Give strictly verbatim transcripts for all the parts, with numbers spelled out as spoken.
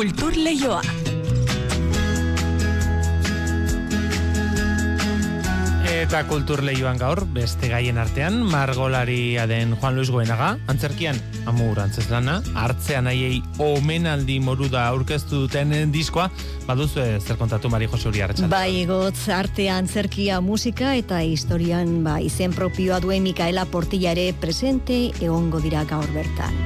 Kultur Leioa. Eta Kultur Leioan gaur, beste gaien artean, margolaria den Juan Luis Goenaga, antzerkian, Amur antzezlana, hartzean aiei omenaldi moruda aurkeztu duten diskoa, baduzu zer kontatu Mari Jose Uri Arratsalde. Bai, gotz, artea, antzerkia, musika eta historian ba, izen propioa duen Mikaela Portilla ere presente egongo dira gaur bertan.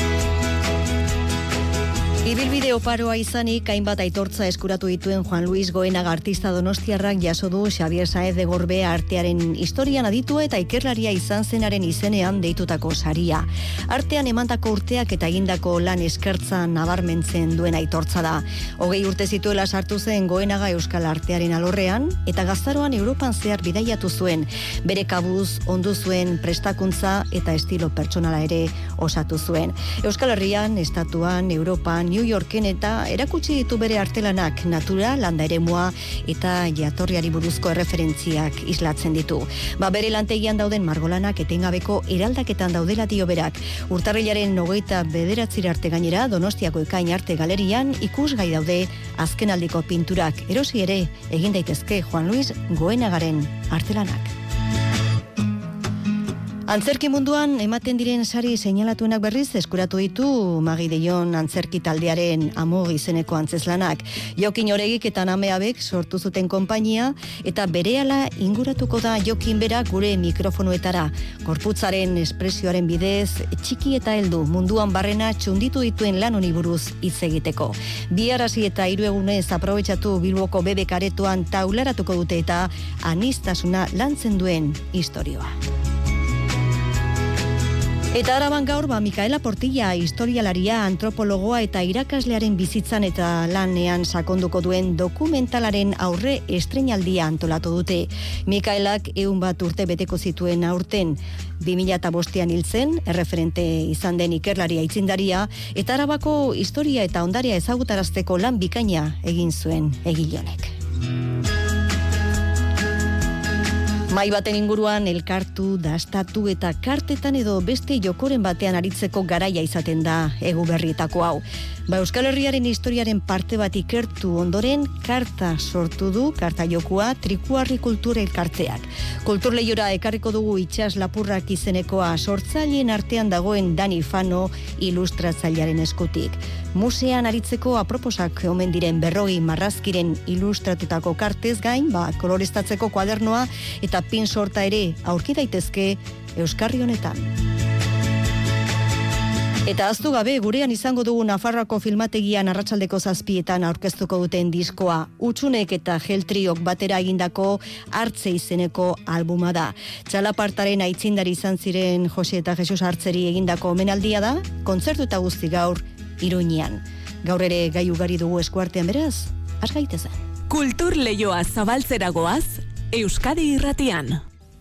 Ibilbide oparoa izanik, hainbat aitortza eskuratu dituen Juan Luis Goenaga artista donostiarrak jaso du Xabier Saez de Gorbe artearen historian aditua eta ikerlaria izan zenaren izenean deitutako saria. Artean emandako urteak eta egindako lan eskertza nabarmentzen duen aitortza da. Hogei urte zituela sartu zen Goenaga euskal artearen alorrean eta gaztaroan Europan zehar bidaiatu zuen. Bere kabuz ondu zuen prestakuntza eta estilo pertsonala ere osatu zuen. Euskal Herrian, Estatuan, Europan, New Yorken eta erakutsi ditu bere artelanak natura, landa eremua eta jatorriari buruzko erreferentziak islatzen ditu. Ba, bere lantegian dauden margolanak etengabeko eraldaketan daudela dio berak. Urtarrilaren hogeita bederatzira arte gainera Donostiako Ekain Arte Galerian ikusgai daude azkenaldiko pinturak. Erosi ere egin daitezke Juan Luis Goenagaren artelanak. Antzerki munduan ematen diren sari seinalatuenak berriz eskuratu ditu Magi Deion antzerki taldearen Amor izeneko antzezlanak. Jokin Oregik eta Nameabek sortu zuten konpainia eta berehala inguratuko da Jokin bera gure mikrofonoetara. Gorputzaren espresioaren bidez txiki eta heldu munduan barrena txunditu dituen lan honi buruz hitz egiteko. Bi arrasi eta hiru egunez aprobetxatu Bilboko bebek aretoan taularatuko dute eta aniztasuna lantzen duen istorioa. Eta Araban gaur, ba, Mikaela Portilla, historialaria, antropologoa eta irakaslearen bizitzan eta lanean sakonduko duen dokumentalaren aurre estreinaldia antolatu dute. Mikaelak ehun bat urte beteko zituen aurten, bi mila bostean hil zen, erreferente izan den ikerlaria aitzindaria, eta Arabako historia eta ondarea ezagutarazteko lan bikaina egin zuen egile honek. Mai baten inguruan elkartu, dastatu eta kartetan edo beste jokoren batean aritzeko garaia izaten da egu berrietako hau. Ba, Euskal Herriaren historiaren parte bat ikertu ondoren karta sortu du, karta jokua, Trikuarri Kultura Elkarteak. Kultur Leiora ekarriko dugu itsas lapurrak izenekoa sortzaileen artean dagoen Dani Fano ilustratzailearen eskutik. Musean aritzeko aproposak omen diren berrogei marrazkiren ilustratutako kartez gain, ba, koloreztatzeko kuadernoa eta pin sorta ere aurki daitezke Euskarri honetan. Eta aztu gabe, gurean izango dugu Nafarroako filmategian arratsaldeko zazpietan aurkeztuko duten diskoa. Utsunek eta Geltriok batera egindako Hartze izeneko albuma da. Txalapartaren aitzindari izan ziren Jose eta Jesus Hartzeri egindako omenaldia da, kontzertu eta guzti gaur Iruñean. Gaur ere gai ugari dugu eskuartean beraz, has gaitezen. Kultur Leioa zabaltzera goaz, Euskadi Irratian.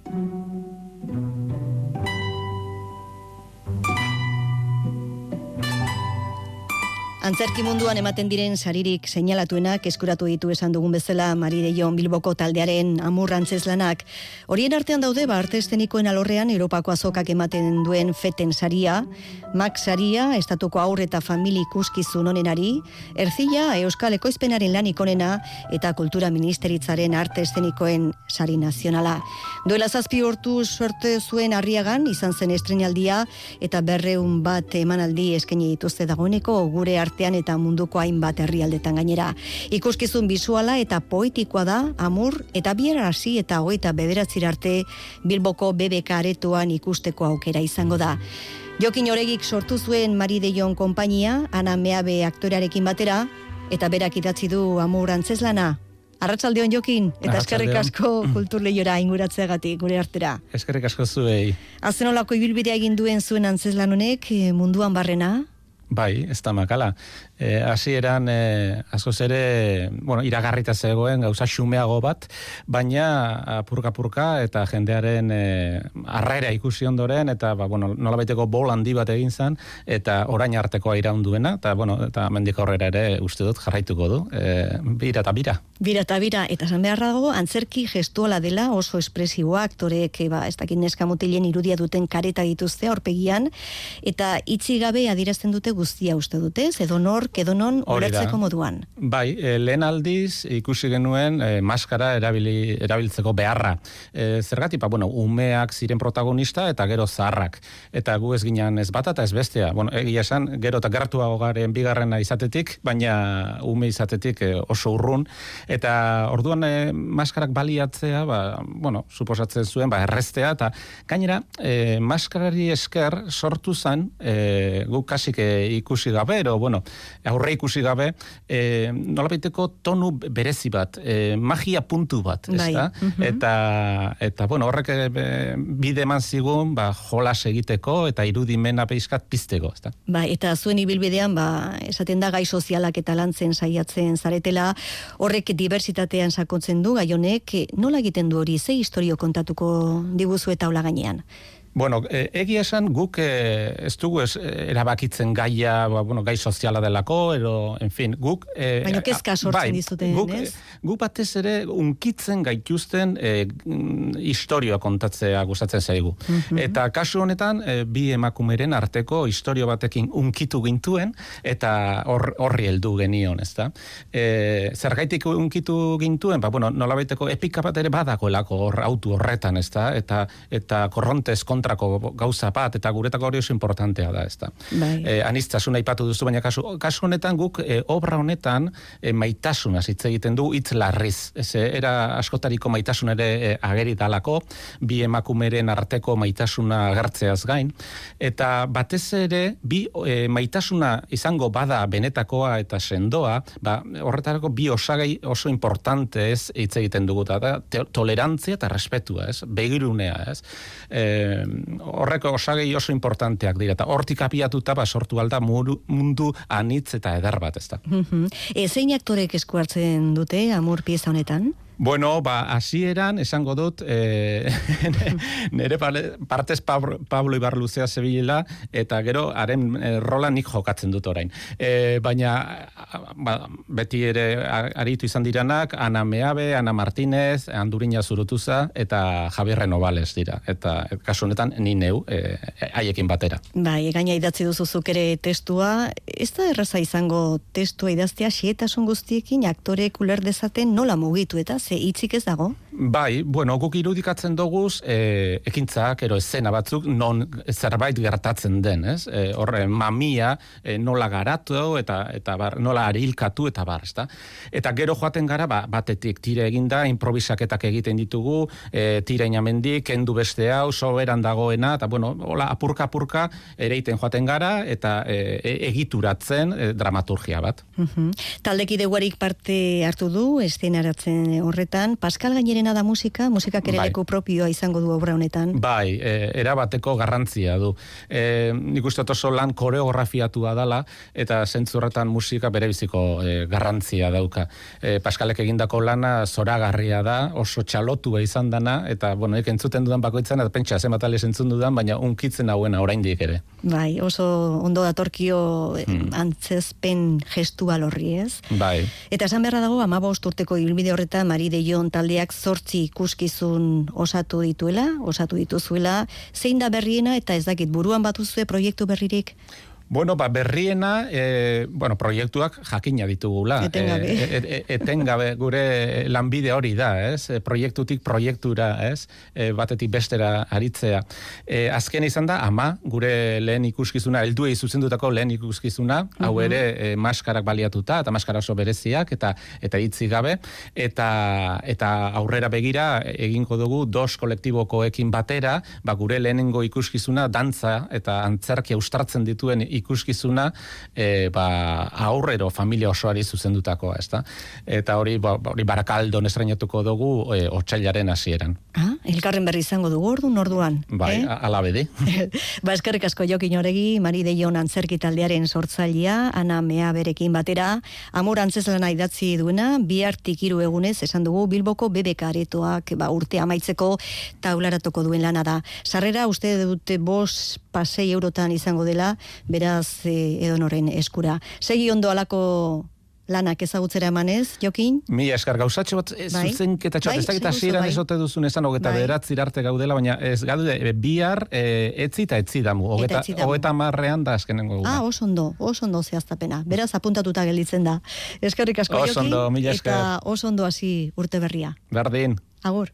Antzerki munduan ematen diren saririk seinalatuenak eskuratu ditu esan dugun bezala Mari Deion Bilboko taldearen Amur antzezlanak. Horien artean daude ba arte eszenikoen alorrean Europako azokak ematen duen Feten saria, Max saria, Estatuko haur eta famili ikuskizun onenari, Erzilla Euskal Ekoizpenaren lanik onena eta Kultura Ministeritzaren arte eszenikoen sari nazionala. Duela zazpi urtu sorte zuen Arriagan izan zen estreinaldia eta berreun bat emanaldi eskaini dituzte dagoeneko gure artean eta munduko hainbat herrialdetan gainera. Ikuskizun bisuala eta poetikoa da Amur eta bierarasi eta hogeita bederatzira arte Bilboko B B K aretoan ikusteko aukera izango da. Jokin Oregik sortu zuen Mari Deion konpainia, Ana Meabe aktorearekin batera, eta berak idatzi du Amur antzezlana. Arratsaldeon Jokin, eta eskerrik asko Kultur Leiora inguratzeagatik gure artera. Eskerrik asko zuei. Azenolako ibilbidea egin duen zuen antzezlan honek munduan barrena? Bai, ez da makala. E, hasieran e, askoz ere, bueno, iragarrita zegoen gauza xumeago bat, baina apurka-apurka eta jendearen e, arraera ikusi ondoren, eta ba, bueno, nolabaiteko bol handi bat egin zen, eta orain artekoa iraun duena, eta, bueno, eta mendik aurrera ere uste dut jarraituko du, e, bira eta bira. Bira eta bira, eta esan beharra dago, antzerki gestuala dela oso espresiboa, aktoreek, ba, ez dakit neska mutilen irudia duten kareta dituzte aurpegian, eta itxi gabe adierazten dute guztia uste dute, edonor, edonon ulertzeko moduan. Bai, e, lehen aldiz ikusi genuen e, maskara erabili, erabiltzeko beharra. E, zergatik, bueno, umeak ziren protagonista eta gero zaharrak. Eta gu ez ginen ez bata eta ez bestea. Bueno, egia esan, gero eta gertuago garen bigarrena izatetik, baina ume izatetik e, oso urrun. Eta orduan e, maskarak baliatzea, ba, bueno, suposatzen zuen, ba, erreztea, eta gainera, e, maskarari esker sortu zen, e, guk kasik e, ikusi gabe, ero, bueno, aurre ikusi gabe, e, nolabaiteko tonu berezi bat, e, magia puntu bat, ez da? Uh-huh. Eta, eta, bueno, horrek e, bide eman zigun, ba, jolas egiteko, eta irudimena peizkat pizteko, ez da? Ba, eta zuen ibilbidean, ba, esaten da gai sozialak eta lantzen saiatzen zaretela, horrek diversitatean sakontzen du, gai honek, nola egiten du hori, ze historio kontatuko diguzu eta hola gainean? Bueno, e, egia esan guk e, ez dugu ez, erabakitzen gaia, ba, bueno, gai soziala delako, ero, en fin, guk... E, Baina kezka sortzen bai, dizuten, guk, ez? Guk batez ere unkitzen gaituzten e, historioa kontatzea gustatzen zaigu. Mm-hmm. Eta kasu honetan, e, bi emakumeren arteko historio batekin unkitu gintuen, eta hor, horri heldu genion, ez da? E, zergaitik unkitu gintuen, ba, bueno, nolabaiteko epika bat ere badagoelako hor autu horretan, ez da? Eta, eta korrontez kontrako gauza bat, eta guretako hori oso importantea da, ez da. Bai. E, anistasuna ipatu duzu, baina kasu, kasu honetan guk, e, obra honetan, e, maitasuna hitz egiten du, hitz larriz. Ez, era askotariko maitasun ere e, ageri dalako, bi emakumeren arteko maitasuna agertzeaz gain, eta batez ere, bi e, maitasuna izango bada benetakoa eta sendoa, ba, horretarako bi osagai oso importante ez hitz egiten dugu, da, tolerantzia eta respetua, ez, begirunea, ez. E, horreko osagei oso importanteak dira, eta hortik apiatuta ba, sortu alda mundu anitz eta eder bat, ez da. Mm-hmm. E, zein aktorek esku hartzen dute Amur pieza honetan? Bueno, ba, hasieran esango dut, e, nire partez Pablo, Pablo Ibarluzea zebilela, eta gero, haren e, rola nik jokatzen dut orain. E, baina, ba, beti ere aritu izan diranak, Ana Meabe, Ana Martínez, Andurina Zurutuza, eta Javier Renovales dira. Eta, et, kasu honetan, ni neu, e, haiekin batera. Bai, gaina idatzi duzuzuk ere testua, ez da erraza izango testua idaztea, xietasun guztiekin aktorek uler dezaten nola mugitu eta ze hitzik ez dago? Bai, bueno, guk irudikatzen doguz, e, ekintzak, ero escena batzuk, non zerbait gertatzen den, ez? E, horre, mamia, e, nola garatu, eta, eta bar, nola arilkatu, eta bar, ezta? Eta gero joaten gara, ba, batetik tire eginda, improvisaketak egiten ditugu, e, tire inamendik, kendu beste hau, soberan dagoena, eta bueno, hola, apurka-apurka, ereiten joaten gara, eta e, egituratzen e, dramaturgia bat. Uh-huh. Taldekide guarik parte hartu du, eszenaratzen horretan, Pascal Gainerena da musika, musikak ere leku propioa izango du obra honetan. Bai, e, erabateko garrantzia du. E, nik uste oso lan koreografiatua dala, eta zentzurretan musika berebiziko e, garrantzia dauka. E, Pascalek egindako lana zoragarria da, oso txalotua izan dana, eta, bueno, ek entzuten dudan bakoitzan, eta pentsa zen bat alez entzun dudan, baina unkitzen hauena oraindik ere. Bai, oso ondo datorkio hmm. antzezpen gestual horri, ez? Bai. Eta esan beharra dago, hamabost urteko ibilbide horretan, Mari de Jon taldeak zortzi ikuskizun osatu dituela, osatu dituzuela, zein da berriena eta ez dakit buruan batuzue proiektu berririk? Bueno, ba, berriena, e, bueno, proiektuak jakina ditugula. Etengabe. E, e, e, etengabe gure lanbide hori da, ez? E, proiektutik proiektura, ez? E, batetik bestera aritzea. E, azken izan da, ama, gure lehen ikuskizuna, helduei zuzendutako lehen ikuskizuna, uh-huh. hau ere e, maskarak baliatuta, eta maskara oso bereziak, eta eta hitzi gabe, eta, eta aurrera begira egingo dugu dos kolektibokoekin batera, ba, gure lehenengo ikuskizuna, dantza eta antzerkia ustartzen dituen ikuskizuna e, ba, aurrero familia osoari zuzendutakoa, ezta? Eta hori, ba, hori Barakaldon estrainatuko dugu e, otsailaren hasieran. Ah, elkarren berri izango dugu ordu orduan. Bai, eh? ala bedi. Ba, eskerrik asko Jokin Oregi, Mari de Jon antzerki taldearen sortzailea, Ana Meaberekin batera, Amur antzeslana idatzi duena, bihartik hiru egunez esan dugu Bilboko B B K aretoak ba, urte amaitzeko taularatuko duen lana da. Sarrera uste dute bost pasei eurotan izango dela, beraz e, edonoren eskura. Segi ondo alako lanak ezagutzera emanez, Jokin? Mila eskar gauzatxo bat, ez Bai. zuzenketatxo bat, Bai, ez dakit seguzu, hasieran bai. esote duzun esan, hogeta Bai. bederatzi arte gaudela, baina ez gaude, e, bihar e, etzi eta etzi damu, hogeta, etzi damu. hogeta marrean da azkenengo eguna. Ah, oso ondo, oso ondo zehaztapena. Beraz, apuntatuta gelditzen da. Eskerrik asko, Oso Jokin, ondo, mila esker. eta oso ondo hasi urte berria. Berdin. Agur.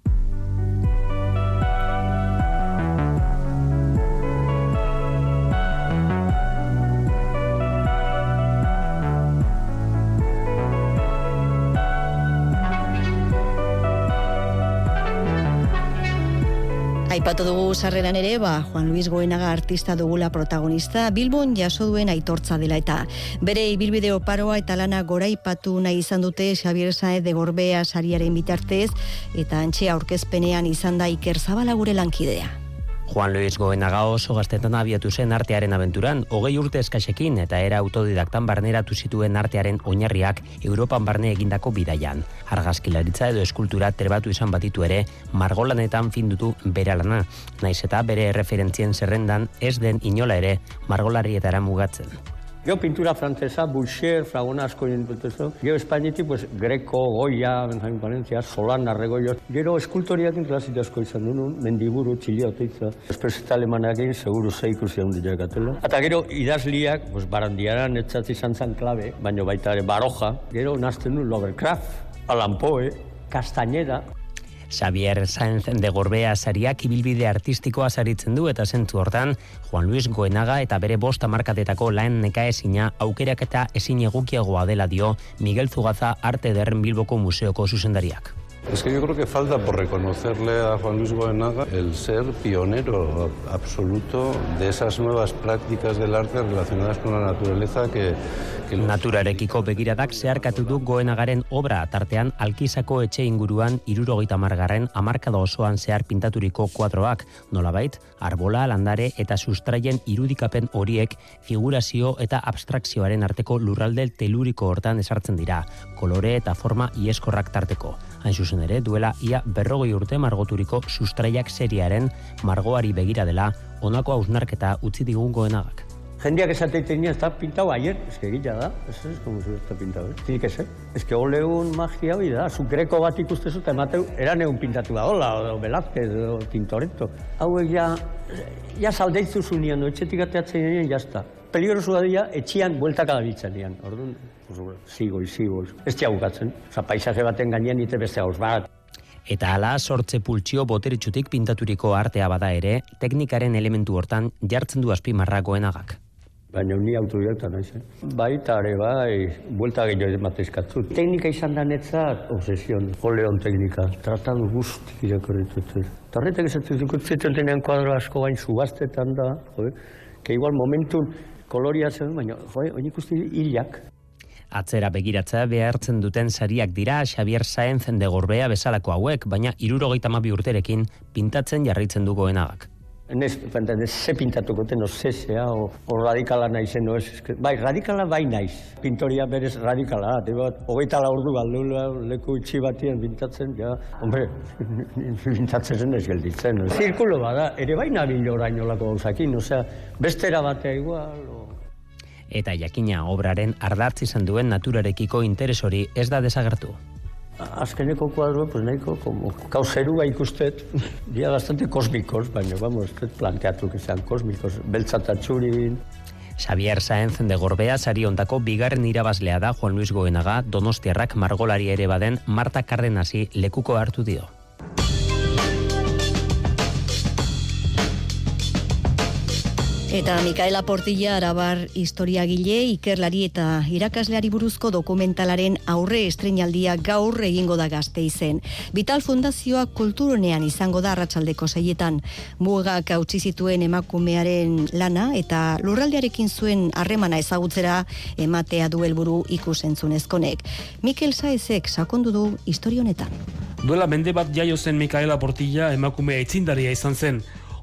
Aipatu dugu sarreran ere, ba, Juan Luis Goenaga artista dugula protagonista, Bilbon jaso duen aitortza dela eta bere ibilbide oparoa eta lana goraipatu nahi izan dute Xabier Saez de Gorbea sariaren bitartez eta antxe aurkezpenean izan da Iker Zabala gure lankidea. Juan Luis Goenaga oso gaztetan abiatu zen artearen abenturan, hogei urte eskasekin eta era autodidaktan barneratu zituen artearen oinarriak Europan barne egindako bidaian. Argazkilaritza edo eskultura trebatu izan batitu ere, margolanetan findutu bere lana, naiz eta bere erreferentzien zerrendan ez den inola ere margolarietara mugatzen. Gero pintura frantzesa, Boucher, Fragona asko jintutezu. Gero Espainitik, pues, Greco, Goya, Benjamin Palencia, Solana, Regoio. Gero eskultoriakin klasite asko izan duen, Mendiburu, Txilia, Oteitza. Espreseta alemanakin, seguru ze ikusi handiak atela. Eta gero idazliak, pues, Barandiaran etzatzi izan zan klabe, baino baita ere Baroja. Gero nazten du Lovecraft, Allan Poe, Castañeda. Xabier Saenz de Gorbea sariak ibilbide artistikoa saritzen du eta zentzu hortan, Juan Luis Goenaga eta bere bost hamarkadetako lan nekaezina aukerak eta ezin egokiagoa dela dio Miguel Zugaza Arte Ederren Bilboko Museoko zuzendariak. Es que yo creo que falta por reconocerle a Juan Luis Goenaga el ser pionero absoluto de esas nuevas prácticas del arte relacionadas con la naturaleza que... que los... Naturarekiko begiradak zeharkatu du Goenagaren obra, tartean Alkizako etxe inguruan hirurogeita hamargarren hamarkada osoan zehar pintaturiko kuadroak, nolabait, arbola, landare eta sustraien irudikapen horiek figurazio eta abstrakzioaren arteko lurralde teluriko hortan esartzen dira, kolore eta forma ieskorrak tarteko. Hain zuzen ere, duela ia berrogei urte margoturiko sustraiak seriaren margoari begira dela, honako hausnarketa utzi digun Goenagak. Jendeak esateiten ez da pintau ayer, ez que egila da, ez ez, como si ez da pintau, ez? Tinik ez, ez que oleun magia hori da, zu greko bat ikustezu eta emateu, eran egun pintatu da, hola, o Velázquez, o Tintoretto. Hauek ja, ja saldeitzu zunian, etxetik ateatzen nien, jazta. Peligrosua dira, etxian bueltaka da bitzen dian, orduan, zigoiz, zigoiz. Ez bukatzen, oza, paisaje baten gainean ite beste hauz bat. Eta hala sortze pultsio boteretsutik pintaturiko artea bada ere, teknikaren elementu hortan jartzen du azpimarra Goenagak. Baina ni autodidakta naiz, eh? Baita ere bai, buelta gehiago emateizkatzu. Teknika izan da netzat, obsesion, oleon teknika, tratadu guztik irakorritut. Eta horretak esatzen zukutzen tenean kuadro asko bain subaztetan da, jode, que igual momentun koloria zen, baina, jode, oin ikusti hilak. Atzera begiratzea behartzen duten sariak dira Xabier Saenz de Gorbea bezalako hauek, baina hirurogeita hamabi urterekin pintatzen jarraitzen du Goenagak. Nez, ez ze pintatuko ten, o zesea, o, o radikala naizen, o ez, bai, radikala bai naiz. Pintoria berez radikala, bat, hogeita la ordu galdula, leku itxi batien pintatzen, ja, hombre, pintatzen zen ez gelditzen. No? Zirkulo bada, ere bai nabil orainolako gauzakin, osea, bestera batea igual, o... Eta jakina obraren ardatz izan duen naturarekiko interes hori ez da desagertu. Azkeneko kuadro, pues nahiko, como kauzerua ikustet, dia bastante kosmikos, baina, vamos, ez planteatu que sean kosmikos, beltza eta txurin. Xabier Saenz de Gorbea sari hontako bigarren irabazlea da Juan Luis Goenaga, donostiarrak margolari ere baden Marta Cardenasi lekuko hartu dio. Eta Mikaela Portilla arabar historiagile, ikerlari eta irakasleari buruzko dokumentalaren aurre estreinaldia gaur egingo da Gasteizen. Vital Fundazioa kulturonean izango da arratsaldeko seietan. Mugak hautsi zituen emakumearen lana eta lurraldearekin zuen harremana ezagutzera ematea du helburu ikusentzunezkonek. Mikel Saezek sakondu du historia honetan. Duela mende bat jaio zen Mikaela Portilla emakumea aitzindaria izan zen.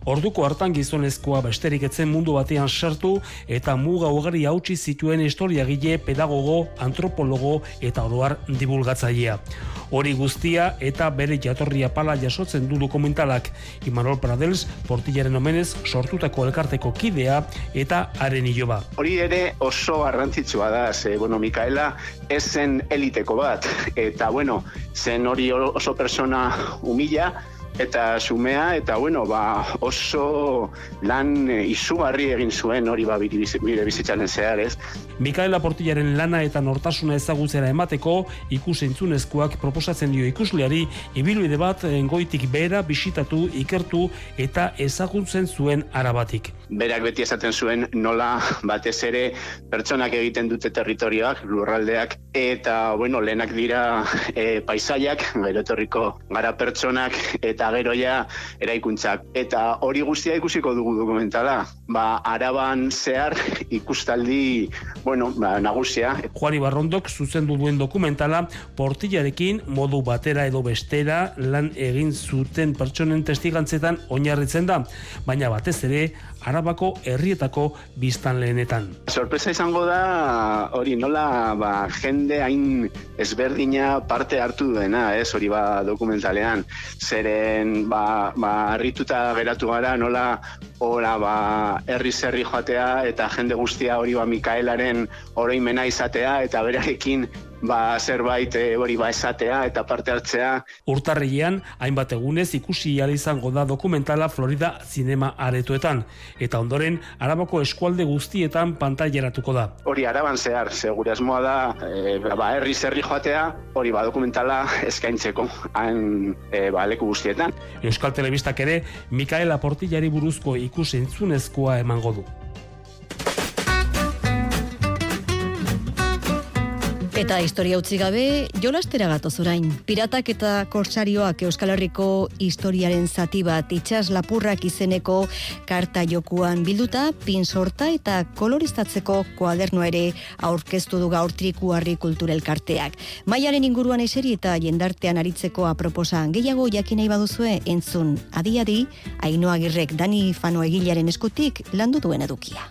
Orduko hartan gizonezkoa besterik etzen mundu batean sartu eta muga ugari hautsi zituen historiagile, pedagogo, antropologo eta oroar divulgatzailea. Hori guztia eta bere jatorria pala jasotzen du dokumentalak. Imanol Pradels, Portillaren omenez sortutako elkarteko kidea eta haren iloba. Hori ere oso garrantzitsua da, ze, bueno, Mikaela ez zen eliteko bat, eta, bueno, zen hori oso persona humila, eta xumea, eta bueno, ba, oso lan izugarri egin zuen hori ba, bire bizitzaren zehar, ez? Mikaela Portillaren lana eta nortasuna ezagutzera emateko ikus-entzunezkoak proposatzen dio ikusleari ibilbide bat goitik behera bisitatu, ikertu eta ezagutzen zuen arabatik. Berak beti esaten zuen nola batez ere pertsonak egiten dute territorioak, lurraldeak, eta bueno, lehenak dira e, paisaiak, gero etorriko gara pertsonak, eta gero ja eraikuntzak. Eta hori guztia ikusiko dugu dokumentala. Ba, Araban zehar ikustaldi, bueno, ba, nagusia. Juani Barrondok zuzendu duen dokumentala Portillarekin modu batera edo bestera lan egin zuten pertsonen testigantzetan oinarritzen da, baina batez ere Arabako herrietako biztanleenetan. Sorpresa izango da hori nola ba, jende hain ezberdina parte hartu duena, ez hori ba dokumentalean. Zeren ba, ba harrituta geratu gara nola ora ba herri zerri joatea eta jende guztia hori ba Mikaelaren oroimena izatea eta berarekin ba zerbait hori ba esatea eta parte hartzea. Urtarrilean hainbat egunez ikusi ahal izango da dokumentala Florida Zinema Aretoetan eta ondoren Arabako eskualde guztietan pantaileratuko da. Hori Araban zehar, segure asmoa da e, ba herri zerri joatea, hori ba dokumentala eskaintzeko han e, ba leku guztietan. Euskal Telebistak ere Mikaela Portillari buruzko ikus-entzunezkoa emango du. Eta historia utzi gabe, jolastera gatoz orain. Piratak eta korsarioak Euskal Herriko historiaren zati bat itsas lapurrak izeneko karta jokuan bilduta, pin sorta eta koloristatzeko kuadernoa ere aurkeztu du gaur Trikuharri kulturelkarteak. Maiaren inguruan eseri eta jendartean aritzeko aproposan gehiago jakin nahi baduzue entzun adi-adi, Ainhoa Agirrek Dani Fano egilearen eskutik landu duen edukia.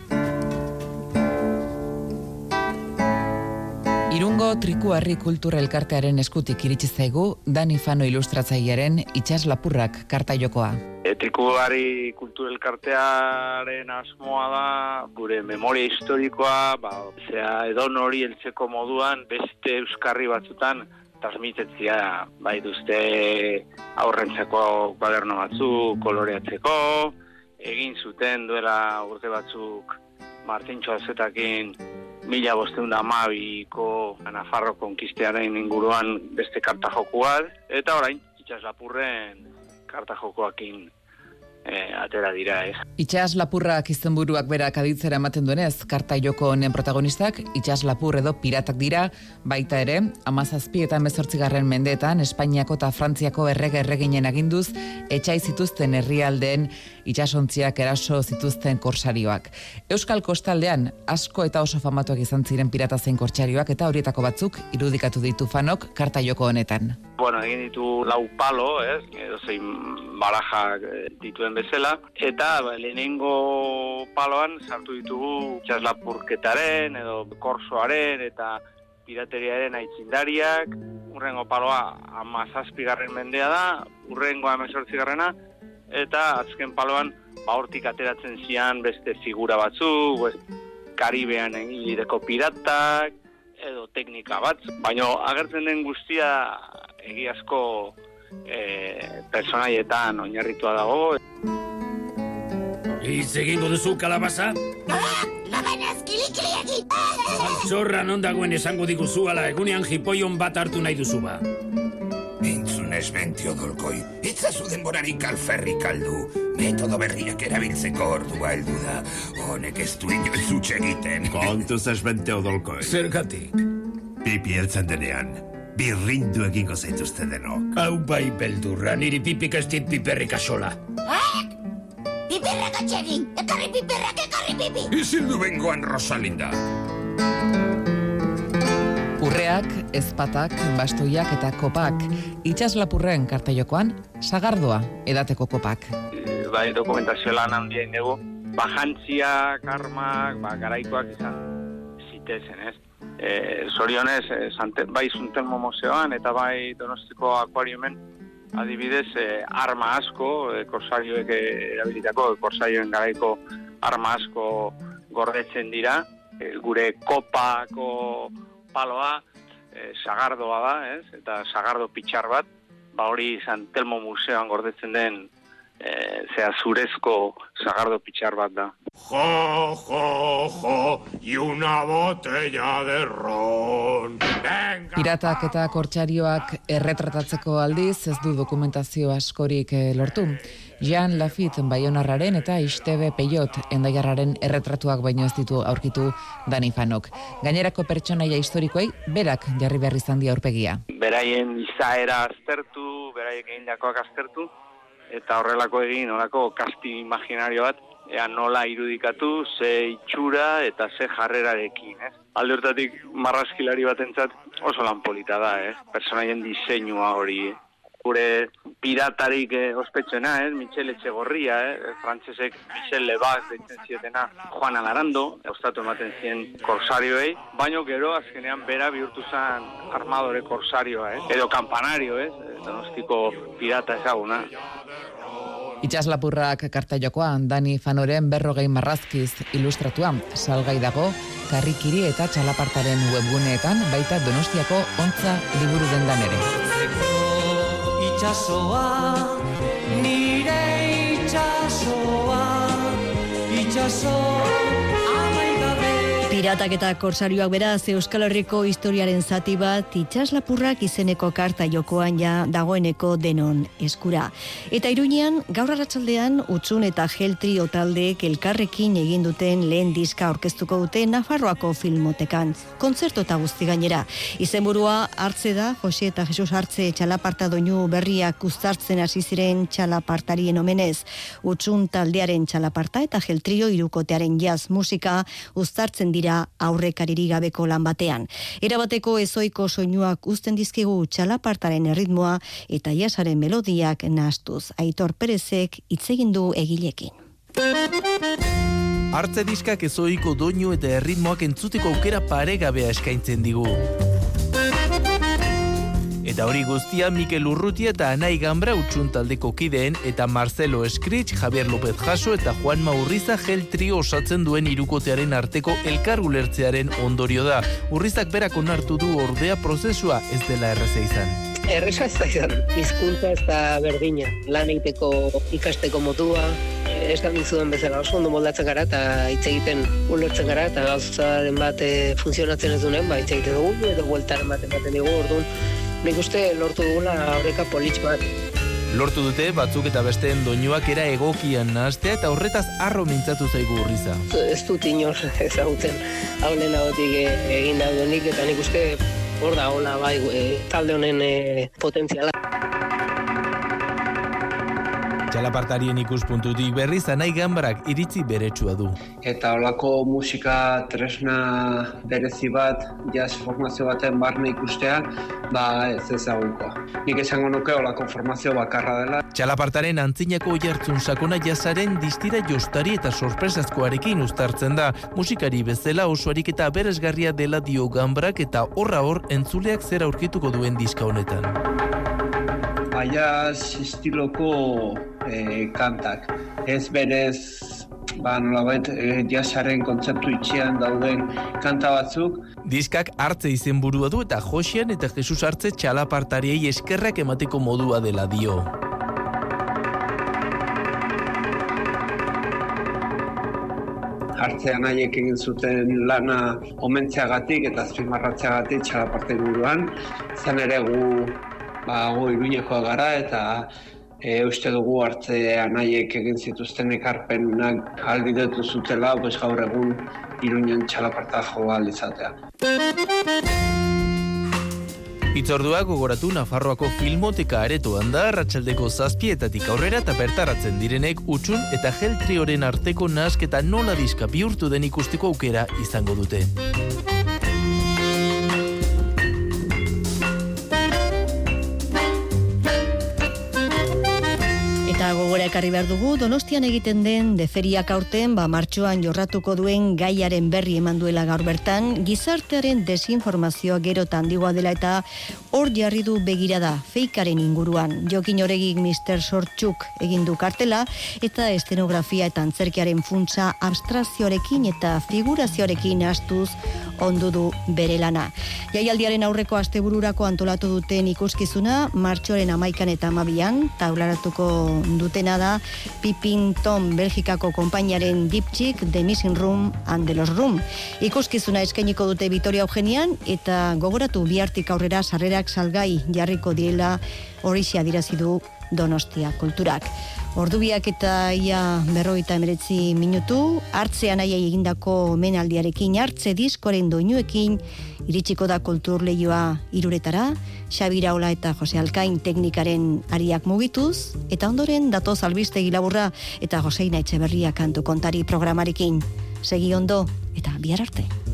Irungo Trikuharri kulturelkartearen eskutik iritsi zaigu Dani Fano ilustratzailearen itsas lapurrak karta jokoa. E, Trikuharri kulturelkartearen asmoa da gure memoria historikoa, ba, zea edon hori heltzeko moduan beste euskarri batzutan transmitetzia, bai duzte aurrentzako kuaderno batzuk koloreatzeko, egin zuten duela urte batzuk Martintxo Azetakin mila bosteun da amabiko Nafarro konkistearen inguruan beste karta jokuak, eta orain itsas lapurren karta jokoakin e, atera dira, ez. Itsas lapurrak izenburuak berak aditzera ematen duenez, karta joko honen protagonistak itsas lapur edo piratak dira, baita ere, hamazazpi eta hemezortzigarren mendeetan Espainiako eta Frantziako errege erreginen aginduz etsai zituzten herrialdeen itsasontziak eraso zituzten korsarioak. Euskal kostaldean asko eta oso famatuak izan ziren pirata zein korsarioak eta horietako batzuk irudikatu ditu Fanok karta joko honetan. Bueno, egin ditu lau palo, ez, edo zein barajak dituen bezala, eta ba, lehenengo paloan sartu ditugu itsas lapurketaren edo korsoaren eta pirateriaren aitzindariak. Urrengo paloa hamazazpigarren mendea da, urrengo hemezortzigarrena, eta azken paloan ba hortik ateratzen zian beste figura batzuk, Karibean egilideko piratak edo teknika bat, baina agertzen den guztia egiazko e, personaietan oinarritua dago. Hitz egingo duzu kalabaza? Altxorra non dagoen esango diguzu ala egunean jipoion bat hartu nahi duzu ba. Entzunez benti odolkoi, itzazu denborarik alferrik aldu. Metodo berriak erabiltzeko ordua heldu da. Honek ez du inoiz huts egiten. Kontuz ez benti odolkoi. Zergatik? Pipi heltzen denean, birrindu egingo zaituzte denok. Hau bai beldurra, niri pipik ez dit piperrik asola. Piperrak atxegin! Ekarri piperrak, ekarri pipi! Izildu bengoan, Rosalinda! Urreak, ezpatak, bastoiak eta kopak. Itsas lapurren karta jokoan, sagardoa edateko kopak. bai, dokumentazio lan handia indegu, ba, jantziak, armak, ba, garaikoak izan zitezen, ez? E, zorionez, e, Sante, bai Zuntelmo Museoan eta bai Donostiko Akuariumen adibidez e, arma asko, e, korsarioek erabilitako, korsarioen garaiko arma asko gordetzen dira, e, gure kopako paloa e, sagardoa da, ez? Eta sagardo pitxar bat, ba hori Santelmo Museoan gordetzen den e, zea zurezko sagardo pitxar bat da. Jo, jo, jo, y una botella de ron. Venga. Piratak eta kortsarioak erretratatzeko aldiz ez du dokumentazio askorik lortu. Jean Lafitte Baionarraren eta Ixtebe Peiot Endaiarraren erretratuak baino ez ditu aurkitu Dani Fanok. Gainerako pertsonaia historikoei berak jarri behar izan die aurpegia. Beraien izaera aztertu, beraiek egindakoak aztertu, eta horrelako egin, horrelako kasti imaginario bat, ea nola irudikatu, ze itxura eta ze jarrerarekin, ez? Alde hortatik marrazkilari batentzat oso lan polita da, ez? Personaien diseinua hori, gure piratarik eh, ospetsuena, ez? Michel Etxegorria, eh? Frantsesek Michel Lebas deitzen ziotena, Juan Alarando, ostatu ematen zien korsarioei, baino gero azkenean bera bihurtu zen armadore korsarioa, eh? Edo kampanario, ez? Donostiko pirata ezaguna. Itxaslapurrak kartaiokoan Dani Fanoren berrogei marrazkiz ilustratua, salgai dago Karrikiri eta Txalapartaren webguneetan, baita Donostiako Ontza liburu dendan ere. Itxasoa, nire itxasoa, itxasoa. Piratak eta korsarioak beraz Euskal Herriko historiaren zati bat Itxaslapurrak izeneko karta jokoan ja dagoeneko denon eskura. Eta Iruñean gaur arratsaldean Utsun eta Gel Trio taldeek elkarrekin egin duten lehen diska aurkeztuko dute Nafarroako Filmotekan. Kontzertu eta guzti gainera. Izenburua Hartze da, Jose eta Jesus Hartze Txalaparta doinu berriak uztartzen hasi ziren txalapartarien omenez. Utsun taldearen txalaparta eta Gel Trio hirukotearen jazz musika uztartzen dira aurrekaririk gabeko lan batean. Erabateko ezoiko soinuak uzten dizkigu txalapartaren erritmoa eta jasaren melodiak nahastuz. Aitor Perezek hitz egin du egilekin. Hartze diskak ezoiko doinu eta erritmoak entzuteko aukera paregabea eskaintzen digu. Eta hori guztia Mikel Urrutia eta Anai Gambra Utsun taldeko kideen eta Marcelo Eskrich, Javier López Jaso eta Juan Urriza Gel Trio osatzen duen hirukotearen arteko elkar ulertzearen ondorio da. Urrizak berak onartu du ordea prozesua ez dela erraza izan. Erresa ez da izan, hizkuntza ez da berdina, lan egiteko ikasteko modua, ez da dizuen bezala oso ondo moldatzen gara eta hitz egiten ulertzen gara eta gauzaren bat e, funtzionatzen ez dunen, ba hitz egiten dugu edo bueltaren bat ematen dugu, orduan nik uste lortu dugula aurreka politx bat. Lortu dute batzuk eta besteen doinuak era egokian nahastea eta horretaz harro mintzatu zaigu Urriza. Ez dut inor ezagutzen haulen agotik egin daudenik eta nik uste hor da hola bai e, talde honen e, potentziala. Txalapartarien ikuspuntutik berriz Anai Gambrak iritzi beretsua du. Eta holako musika tresna berezi bat, jazz formazio baten barne ikustea, ba ez ezaguko. Nik esango nuke holako formazio bakarra dela. Txalapartaren antzinako oihartzun sakona jazzaren distira jostari eta sorpresazkoarekin uztartzen da. Musikari bezala oso ariketa beresgarria dela dio Gambrak eta horra hor entzuleak zer aurkituko duen diska honetan. Jazz estiloko e, kantak. Ez berez, ba, nolabait, e, jazzaren kontzeptu itxian dauden kanta batzuk. Diskak Hartze izenburua du eta Josean eta Jesus Hartze txalapartariei eskerrak emateko modua dela dio. Hartze anaiek egin zuten lana omentzeagatik eta azpimarratzeagatik txalaparte buruan. Zan ere gu Ba, go Iruñekoa gara eta e, uste dugu Hartze anaiek egin zituzten ekarpenak ahalbidetu zutela, pues gaur egun Iruñen txalaparta jo ahal izatea. Hitzordua gogoratu Nafarroako Filmoteka aretoan da arratsaldeko zazpietatik aurrera eta bertaratzen direnek Utsun eta Gel Trioren arteko nahasketa nola diska bihurtu den ikusteko aukera izango dute. Eta Eta gogora ekarri behar dugu, Donostian egiten den deferiak aurten, ba, martxoan jorratuko duen gaiaren berri eman duela gaur bertan, gizartearen desinformazioa gero eta handigoa dela eta hor jarri du begirada feikaren inguruan. Jokin Oregik mister Sortxuk egin du kartela eta estenografia eta antzerkiaren funtsa abstrakzioarekin eta figurazioarekin astuz ondu du bere lana. Jaialdiaren aurreko astebururako antolatu duten ikuskizuna, martxoaren amaikan eta amabian, taularatuko dutena da Pipin Tom Belgikako konpainiaren Diptxik, The Missing Room and The Lost Room. Ikuskizuna eskainiko dute Vitoria Eugenian eta gogoratu bihartik aurrera sarrerak salgai jarriko direla horixe adierazi du Donostia Kulturak. Ordubiak eta ia berrogeita emeretzi minutu, hartzean aiai egindako omenaldiarekin, hartze diskoren doinuekin, iritsiko da kultur lehioa iruretara, Xabi Iraola eta Jose Alkain teknikaren ariak mugituz, eta ondoren datoz albistegi laburra eta Joseina Etxeberria kantu kontari programarekin. Segi ondo eta bihar arte.